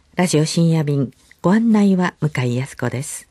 ラジオ深夜便、ご案内は向井康子です。